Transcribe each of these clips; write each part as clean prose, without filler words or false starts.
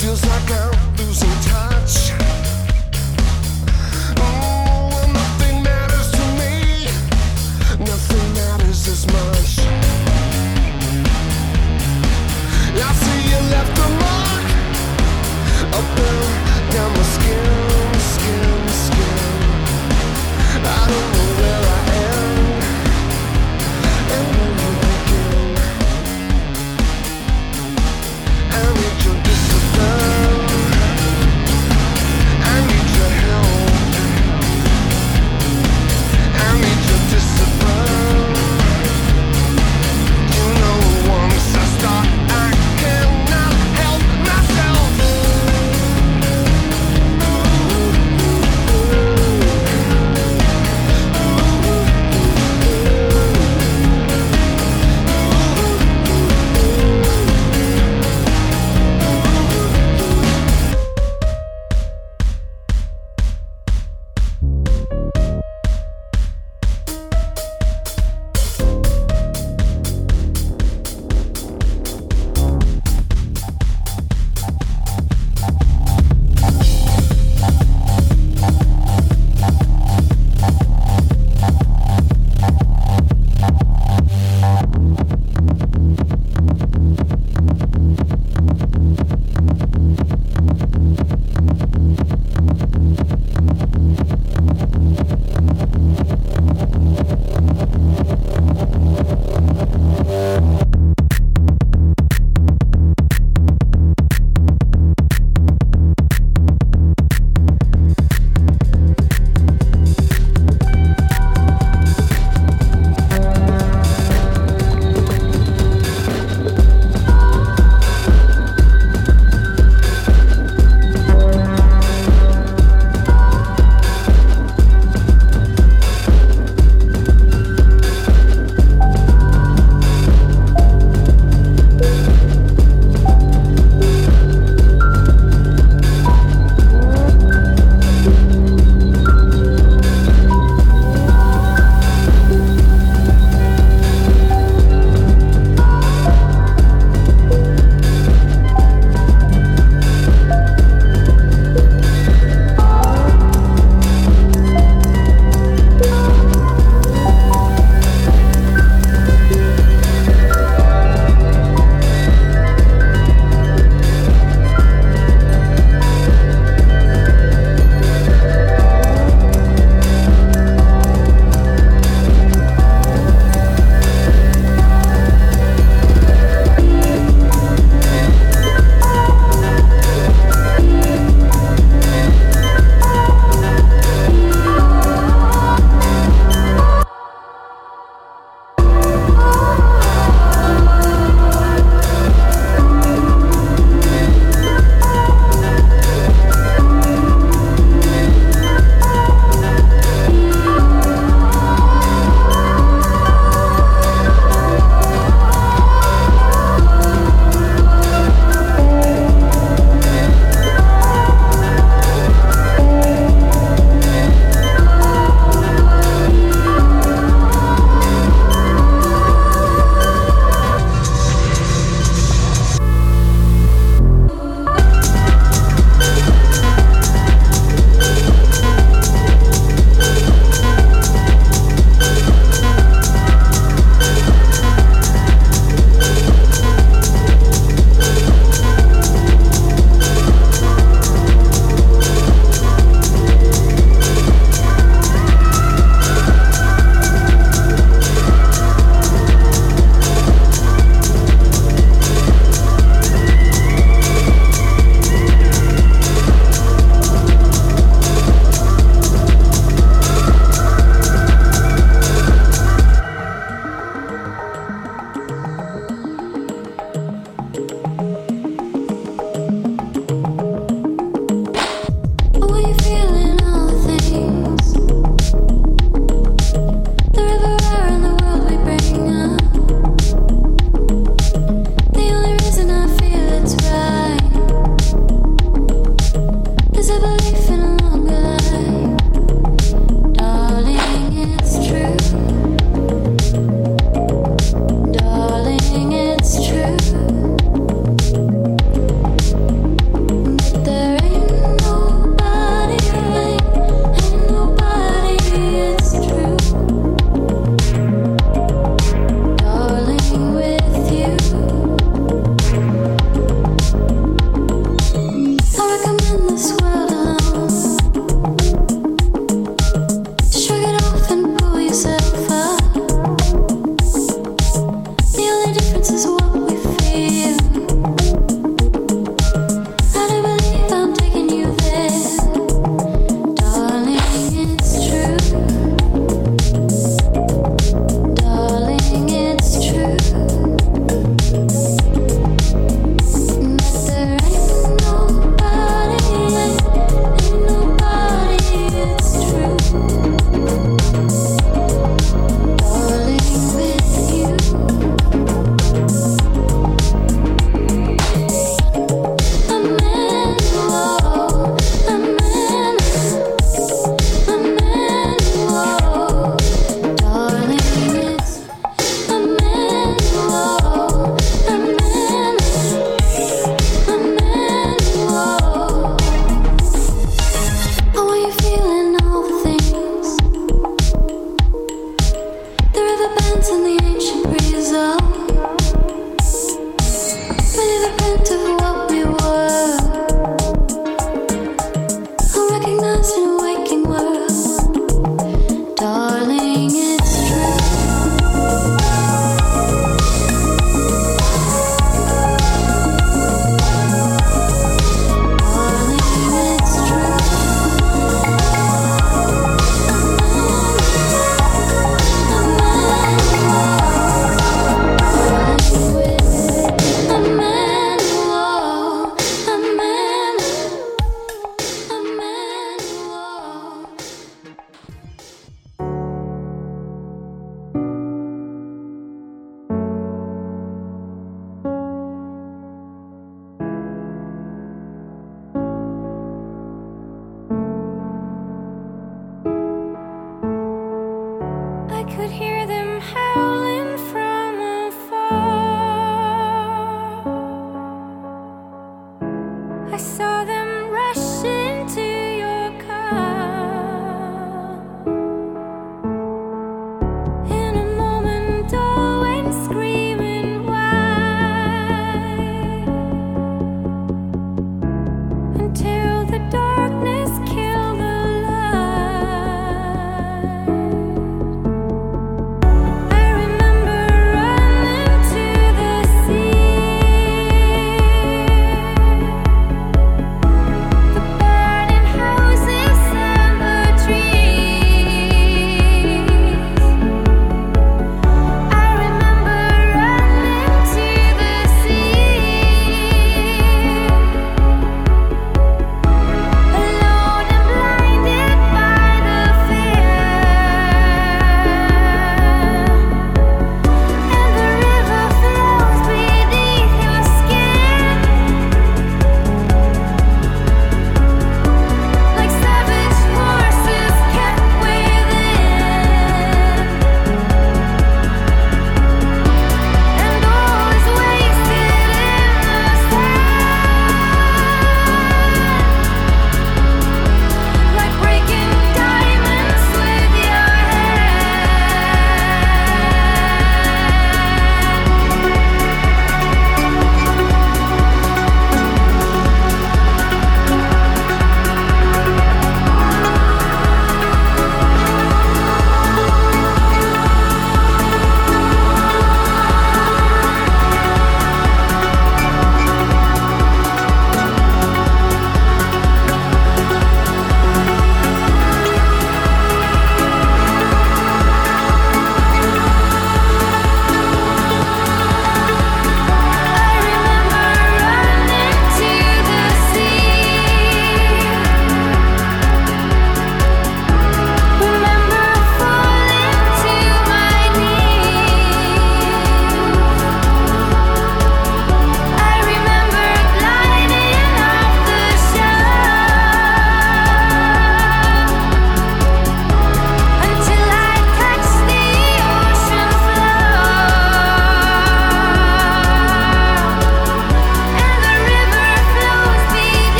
Feels like I'm losing touch. Oh, nothing matters to me. Nothing matters as much. I see you left a mark up and down my skin, skin, skin. I don't know where I am and where you begin. I need your discipline. I need your help. I need your discipline. You know, once I start, I cannot help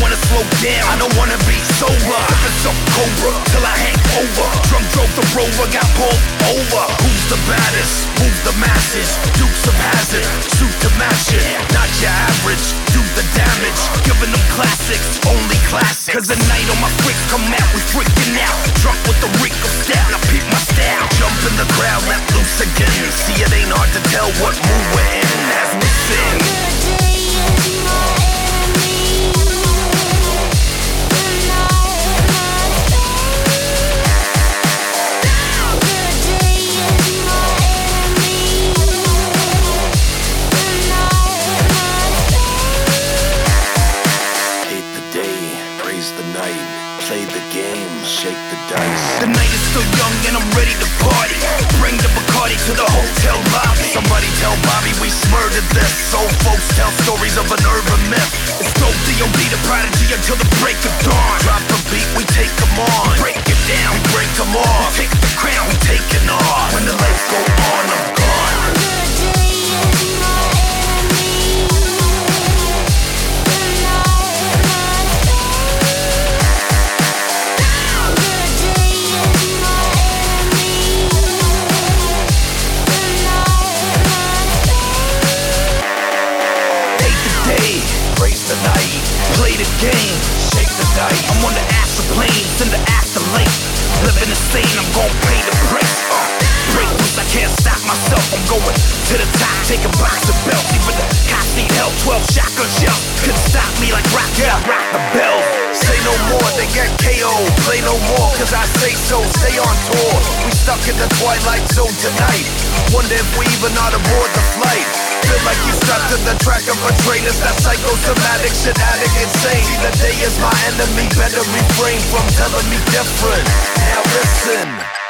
wanna slow down, I don't wanna be sober. Sipping some Cobra till I hang over. Drunk drove the Rover, got pulled over. Who's the baddest? Move the masses. Dukes of Hazzard, shoot to match it. Not your average, do the damage. Giving them classics, only classics. Cause the night on my freaks come out, we freaking out. Drunk with the reek of style, now peep my style. Jump in the crowd, let loose again. See, it ain't hard to tell what mood we're in as we sing. The night is still young and I'm ready to party. Bring the Bacardi to the hotel lobby. Somebody tell Bobby we smurdered this. Old folks tell stories of an urban myth. It's dope D.O.D. the prodigy until the break of dawn. Drop a beat, we take them on. Break it down, we break them off. We take the crown, we taking off. When the lights go on, I'm gone. Play the game, shake the dice. I'm on the astral plane, send the afterlife. Living insane, I'm gon' pay the price. Break loose, I can't stop myself. I'm going to the top, taking box of belts. Even the cops need help, 12 shotgun shells. Couldn't stop me like rock, yeah, rock the bell. Say no more, they get KO. Play no more, cause I say so. Stay on tour, we stuck in the twilight zone tonight. Wonder if we even ought to board the flight. Feel like you strapped to the track of a train. It's that psychosomatic shit, addict insane. See, the day is my enemy, better refrain from telling me different. Now listen.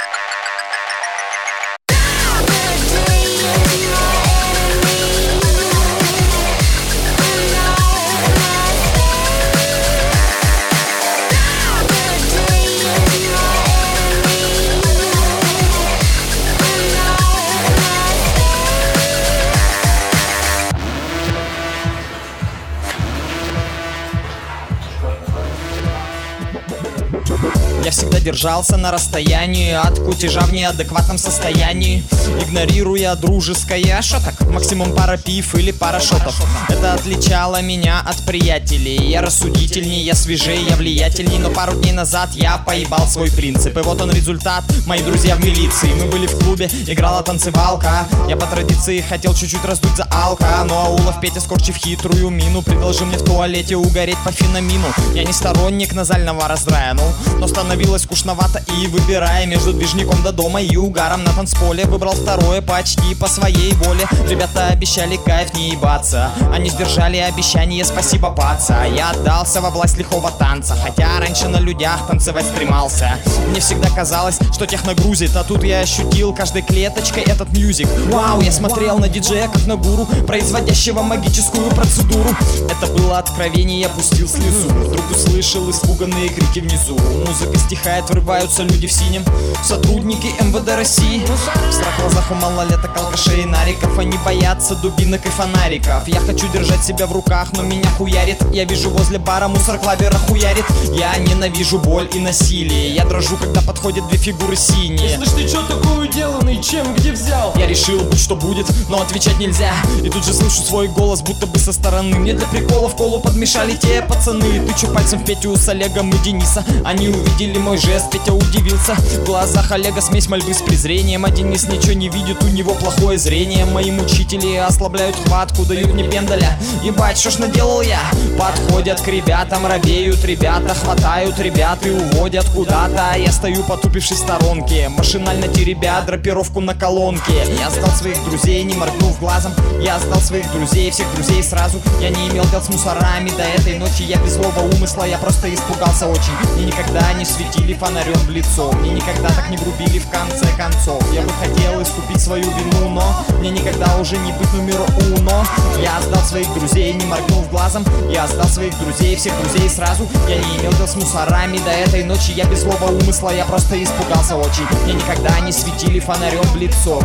Я всегда держался на расстоянии от кутежа в неадекватном состоянии, игнорируя дружеское. Шо так? Максимум пара пив или пара шотов. Это отличало меня от приятелей. Я рассудительней, я свежей, я влиятельней. Но пару дней назад я поебал свой принцип. И вот он результат, мои друзья в милиции. Мы были в клубе, играла танцевалка. Я по традиции хотел чуть-чуть раздуть за алка. Но Аулов Петя, скорчив хитрую мину, предложил мне в туалете угореть по феномену. Я не сторонник назального раздрая, но становилось скучновато. И выбирая между движником до дома и угаром на танцполе, выбрал второе почти по своей воле. Ребята обещали кайф не ебаться, они сдержали обещание, спасибо, паца. Я отдался во власть лихого танца, хотя раньше на людях танцевать стремался. Мне всегда казалось, что тех нагрузит, а тут я ощутил каждой клеточкой этот мьюзик. Вау, я смотрел на диджея как на гуру, производящего магическую процедуру. Это было откровение, я пустил слезу. Вдруг услышал испуганные крики внизу. Музыка стихает, врываются люди в синем, сотрудники МВД России. В страх в глазах у малолеток, алкашей и нариков. Они боятся дубинок и фонариков. Я хочу держать себя в руках, но меня хуярит. Я вижу возле бара мусор-клавера хуярит. Я ненавижу боль и насилие. Я дрожу, когда подходят две фигуры синие. Слышь, ты чё такой уделанный? Чем, где взял? Я решил, будь что будет, но отвечать нельзя. И тут же слышу свой голос, будто бы со стороны. Мне для прикола в колу подмешали те пацаны. Тычу пальцем в Петю с Олегом и Дениса. Они увидели мой жест, Петя удивился. В глазах Олега смесь мольбы с презрением. А Денис ничего не видит, у него плохое зрение. Мои мучители ослабляют хватку, дают мне пендаля. Ебать, что ж наделал я? Подходят к ребятам, робеют ребята, хватают ребят и уводят куда-то. Я стою, потупившись в сторонке, машинально теребя драпировку на колонке. Я сдал своих друзей, не моргнув глазом. Я сдал своих друзей, всех друзей сразу. Я не имел дел с мусорами до этой ночи. Я без злого умысла, я просто испугался очень. Мне никогда не светили фонарем в лицо, мне никогда так не грубили в конце концов. Я бы хотел искупить свою вину, но мне никогда уже не быть номеру уно. Я сдал своих друзей, не моргнув глазом. Я сдал своих друзей, всех друзей сразу. Я не имел дел с мусорами до этой ночи. Я без злого умысла, я просто испугался очень. Мне никогда не светили фонарем в лицо, мне никогда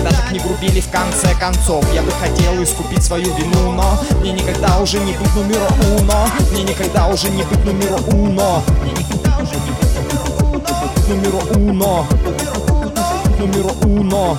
никогда так не грубили в конце концов. Я бы хотел искупить свою вину, но мне никогда уже не быть номер уно. Мне никогда уже не быть номер уно. Номер уно. Номер уно.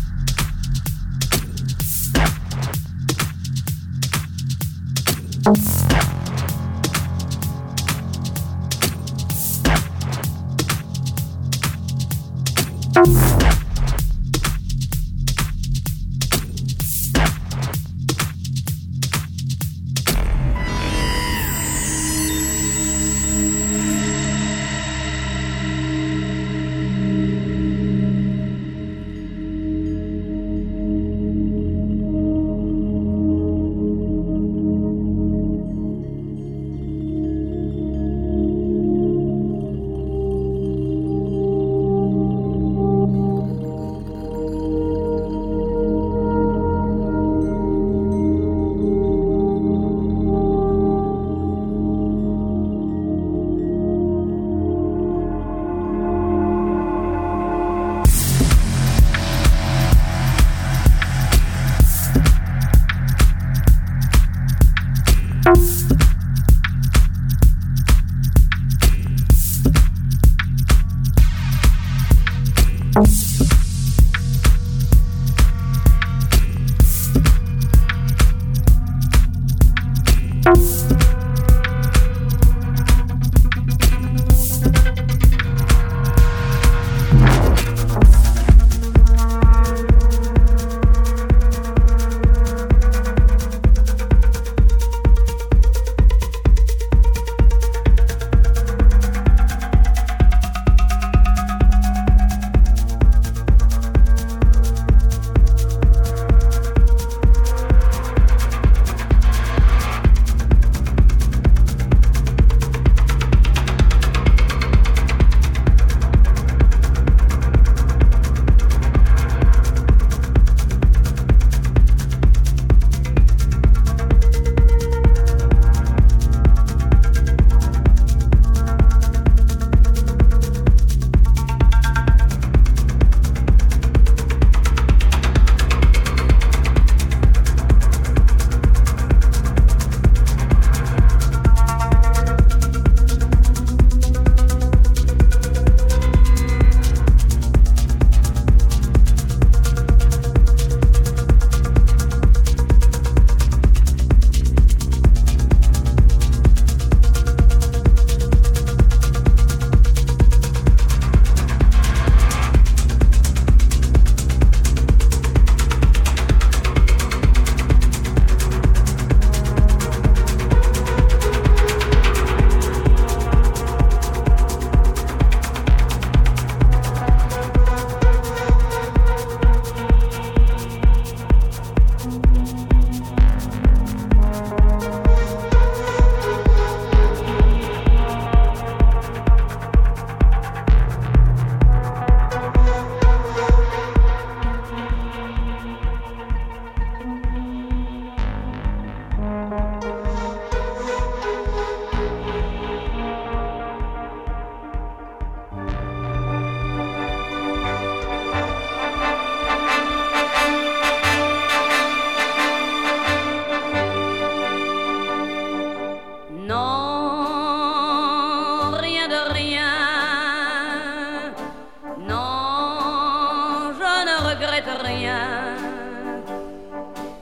Yeah.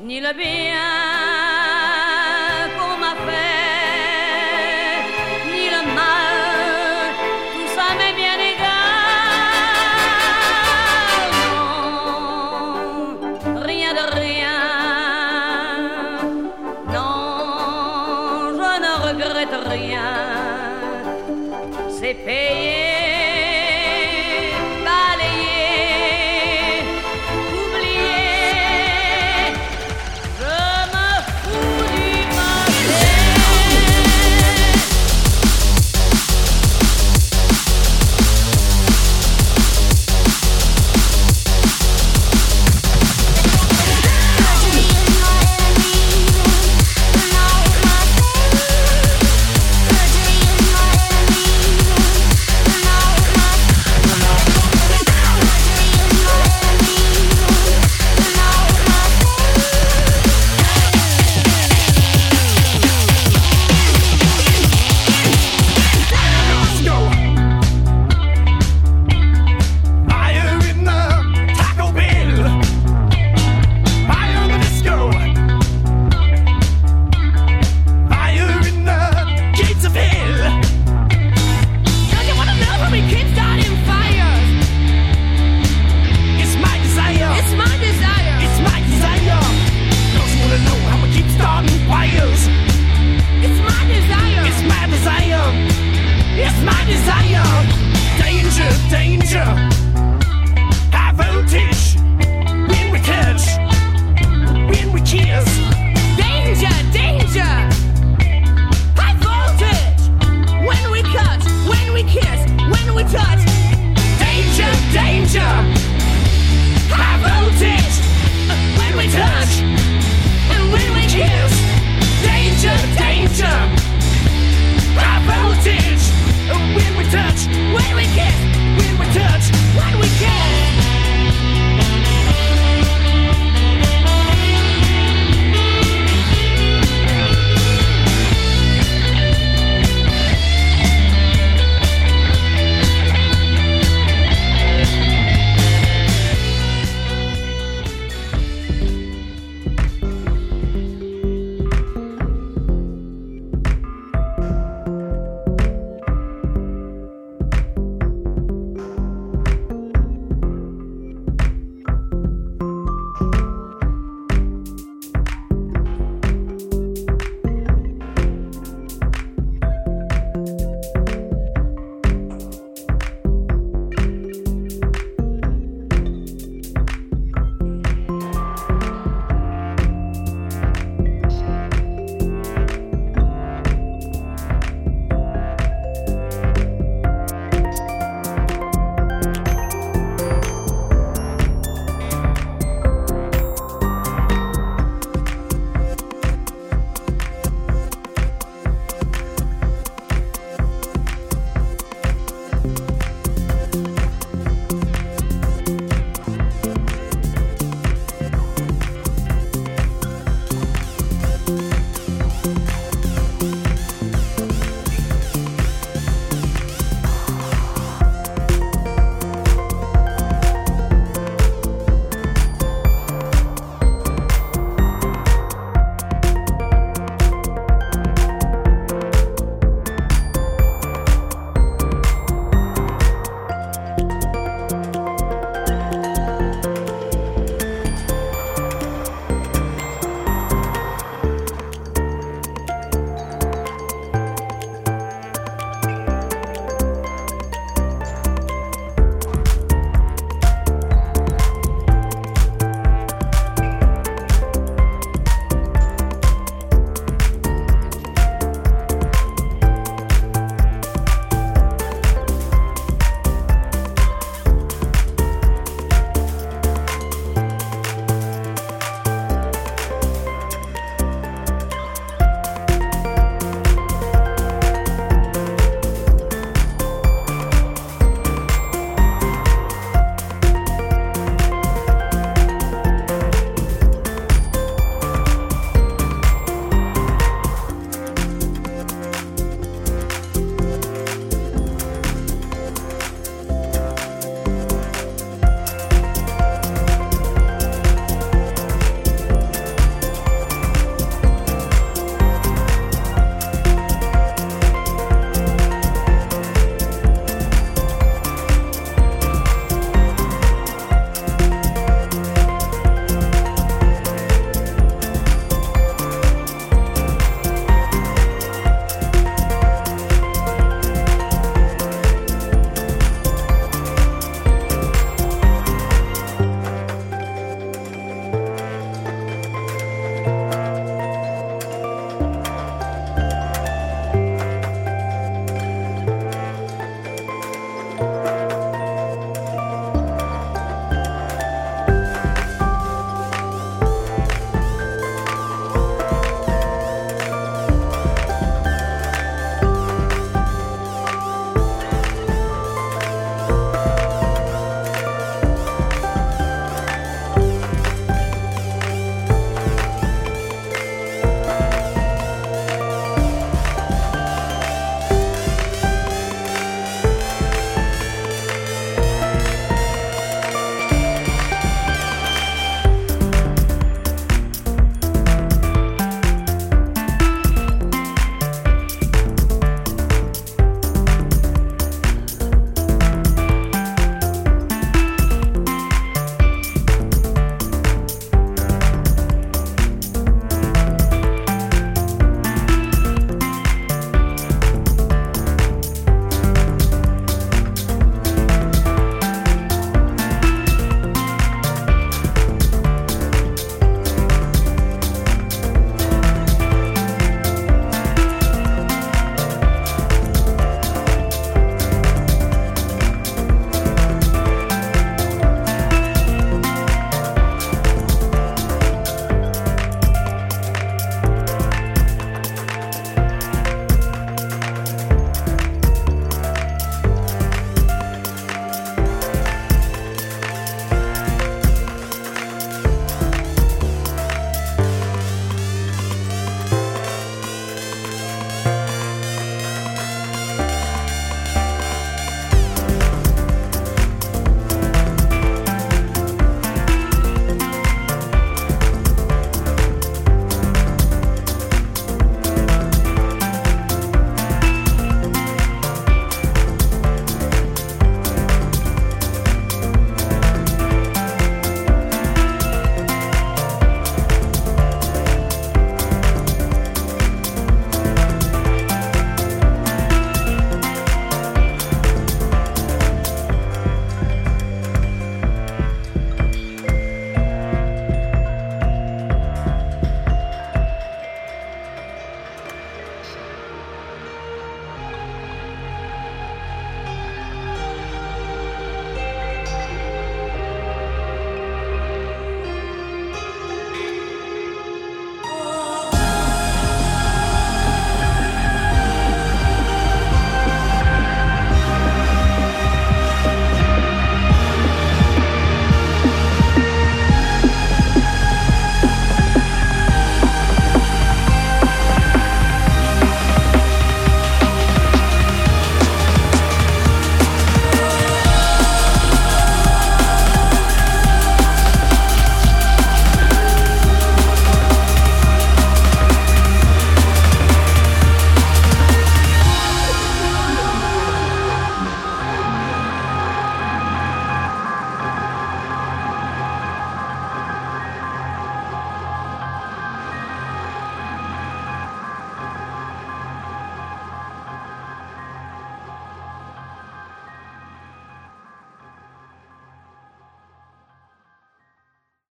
ni le bien qu'on m'a fait, ni le mal, tout ça m'est bien égal. Non, rien de rien. Non, je ne regrette rien. C'est payé.